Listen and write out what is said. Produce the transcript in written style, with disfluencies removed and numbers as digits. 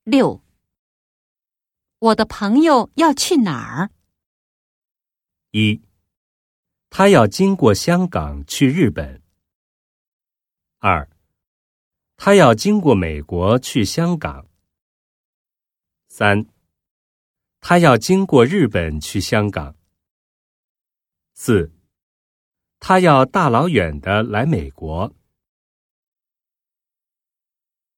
6. 我的朋友要去哪儿 ？1. 他要经过香港去日本。2. 他要经过美国去香港。3. 他要经过日本去香港。4. 他要大老远的来美国。